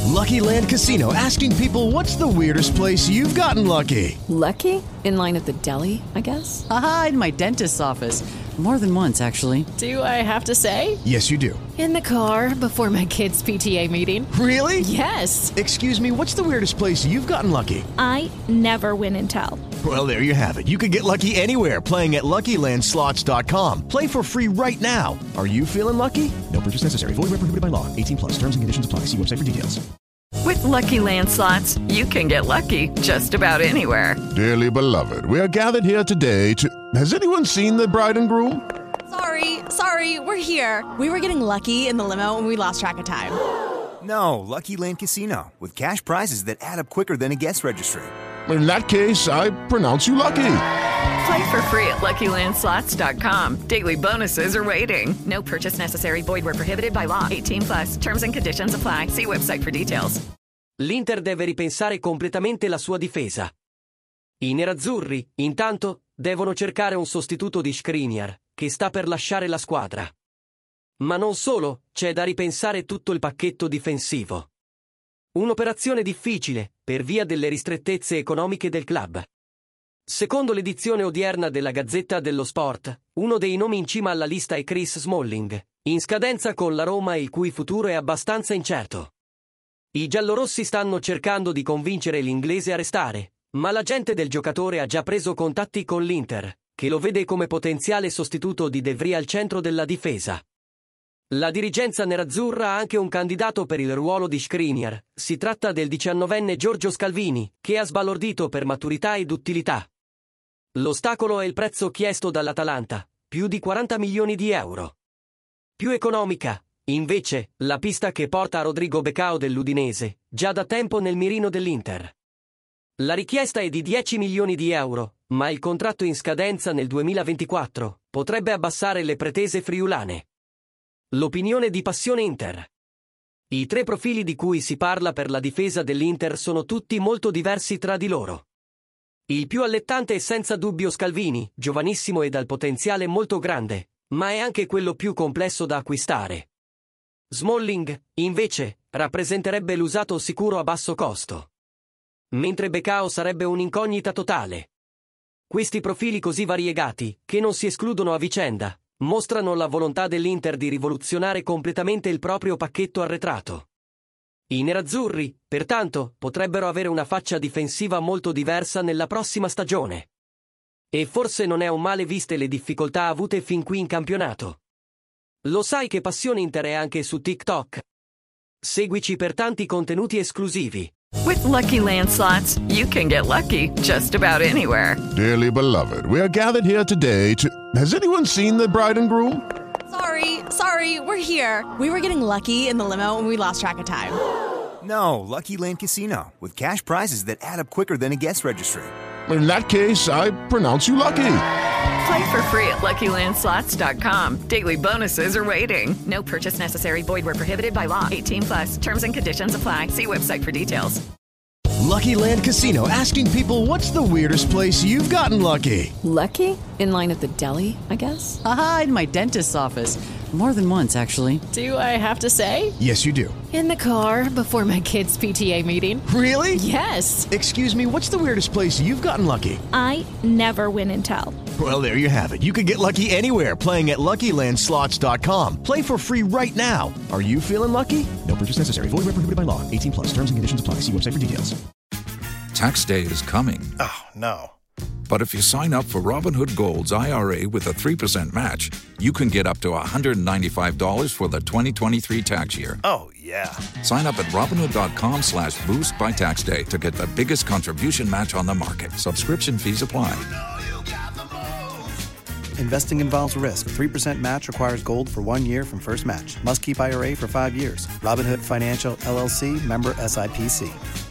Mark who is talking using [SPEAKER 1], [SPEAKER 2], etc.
[SPEAKER 1] Lucky Land Casino, asking people, what's the weirdest place you've gotten lucky?
[SPEAKER 2] Lucky? In line at the deli, I guess?
[SPEAKER 3] Aha, in my dentist's office. More than once, actually.
[SPEAKER 2] Do I have to say?
[SPEAKER 1] Yes, you do.
[SPEAKER 2] In the car before my kids' PTA meeting.
[SPEAKER 1] Really?
[SPEAKER 2] Yes.
[SPEAKER 1] Excuse me, what's the weirdest place you've gotten lucky?
[SPEAKER 4] I never win and tell.
[SPEAKER 1] Well, there you have it. You can get lucky anywhere, playing at LuckyLandSlots.com. Play for free right now. Are you feeling lucky? No purchase necessary. Void where prohibited by law. 18 plus. Terms and conditions apply. See website for details.
[SPEAKER 5] With Lucky Land Slots, you can get lucky just about anywhere.
[SPEAKER 6] Dearly beloved, we are gathered here today to... Has anyone seen the bride and groom?
[SPEAKER 7] Sorry, we're here. We were getting lucky in the limo and we lost track of time.
[SPEAKER 8] No, Lucky Land Casino, with cash prizes that add up quicker than a guest registry.
[SPEAKER 6] In that case, I pronounce you lucky.
[SPEAKER 5] Play for free at LuckyLandSlots.com. Daily bonuses are waiting. No purchase necessary. Void where prohibited by law. 18 plus. Terms and conditions apply. See website for details.
[SPEAKER 9] L'Inter deve ripensare completamente la sua difesa. I nerazzurri, intanto, devono cercare un sostituto di Skriniar, che sta per lasciare la squadra. Ma non solo, c'è da ripensare tutto il pacchetto difensivo. Un'operazione difficile, per via delle ristrettezze economiche del club. Secondo l'edizione odierna della Gazzetta dello Sport, uno dei nomi in cima alla lista è Chris Smalling, in scadenza con la Roma il cui futuro è abbastanza incerto. I giallorossi stanno cercando di convincere l'inglese a restare, ma l'agente del giocatore ha già preso contatti con l'Inter, che lo vede come potenziale sostituto di De Vrij al centro della difesa. La dirigenza nerazzurra ha anche un candidato per il ruolo di Skriniar. Si tratta del 19enne Giorgio Scalvini, che ha sbalordito per maturità ed utilità. L'ostacolo è il prezzo chiesto dall'Atalanta, più di 40 milioni di euro. Più economica, invece, la pista che porta a Rodrigo Becao dell'Udinese, già da tempo nel mirino dell'Inter. La richiesta è di 10 milioni di euro, ma il contratto in scadenza nel 2024 potrebbe abbassare le pretese friulane. L'opinione di Passione Inter. I tre profili di cui si parla per la difesa dell'Inter sono tutti molto diversi tra di loro. Il più allettante è senza dubbio Scalvini, giovanissimo e dal potenziale molto grande, ma è anche quello più complesso da acquistare. Smalling, invece, rappresenterebbe l'usato sicuro a basso costo. Mentre Becao sarebbe un'incognita totale. Questi profili così variegati, che non si escludono a vicenda, mostrano la volontà dell'Inter di rivoluzionare completamente il proprio pacchetto arretrato. I nerazzurri, pertanto, potrebbero avere una faccia difensiva molto diversa nella prossima stagione. E forse non è un male viste le difficoltà avute fin qui in campionato. Lo sai che Passione Inter è anche su TikTok? Seguici per tanti contenuti esclusivi.
[SPEAKER 5] With Lucky Land Slots, you can get lucky just about anywhere.
[SPEAKER 6] Dearly beloved, we are gathered here today to... Has anyone seen the bride and groom?
[SPEAKER 7] Sorry, we're here. We were getting lucky in the limo and we lost track of time.
[SPEAKER 8] No, Lucky Land Casino, with cash prizes that add up quicker than a guest registry.
[SPEAKER 6] In that case, I pronounce you lucky.
[SPEAKER 5] Play for free at LuckyLandSlots.com. Daily bonuses are waiting. No purchase necessary. Void where prohibited by law. 18 plus. Terms and conditions apply. See website for details.
[SPEAKER 1] Lucky Land Casino, asking people, what's the weirdest place you've gotten lucky?
[SPEAKER 2] Lucky? In line at the deli, I guess?
[SPEAKER 3] Aha, in my dentist's office. More than once, actually.
[SPEAKER 2] Do I have to say?
[SPEAKER 1] Yes, you do.
[SPEAKER 2] In the car before my kids' PTA meeting.
[SPEAKER 1] Really?
[SPEAKER 2] Yes.
[SPEAKER 1] Excuse me, what's the weirdest place you've gotten lucky?
[SPEAKER 4] I never win and tell.
[SPEAKER 1] Well, there you have it. You can get lucky anywhere, playing at LuckyLandSlots.com. Play for free right now. Are you feeling lucky? No purchase necessary. Void where prohibited by law. 18 plus. Terms and conditions apply. See website for details.
[SPEAKER 10] Tax day is coming.
[SPEAKER 11] Oh, no.
[SPEAKER 10] But if you sign up for Robinhood Gold's IRA with a 3% match, you can get up to $195 for the 2023 tax year.
[SPEAKER 11] Oh, yeah.
[SPEAKER 10] Sign up at Robinhood.com/boost by tax day to get the biggest contribution match on the market. Subscription fees apply.
[SPEAKER 12] Investing involves risk. 3% match requires gold for 1 year from first match. Must keep IRA for 5 years. Robinhood Financial, LLC, member SIPC.